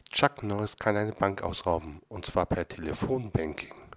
Chuck Norris kann eine Bank ausrauben, und zwar per Telefonbanking.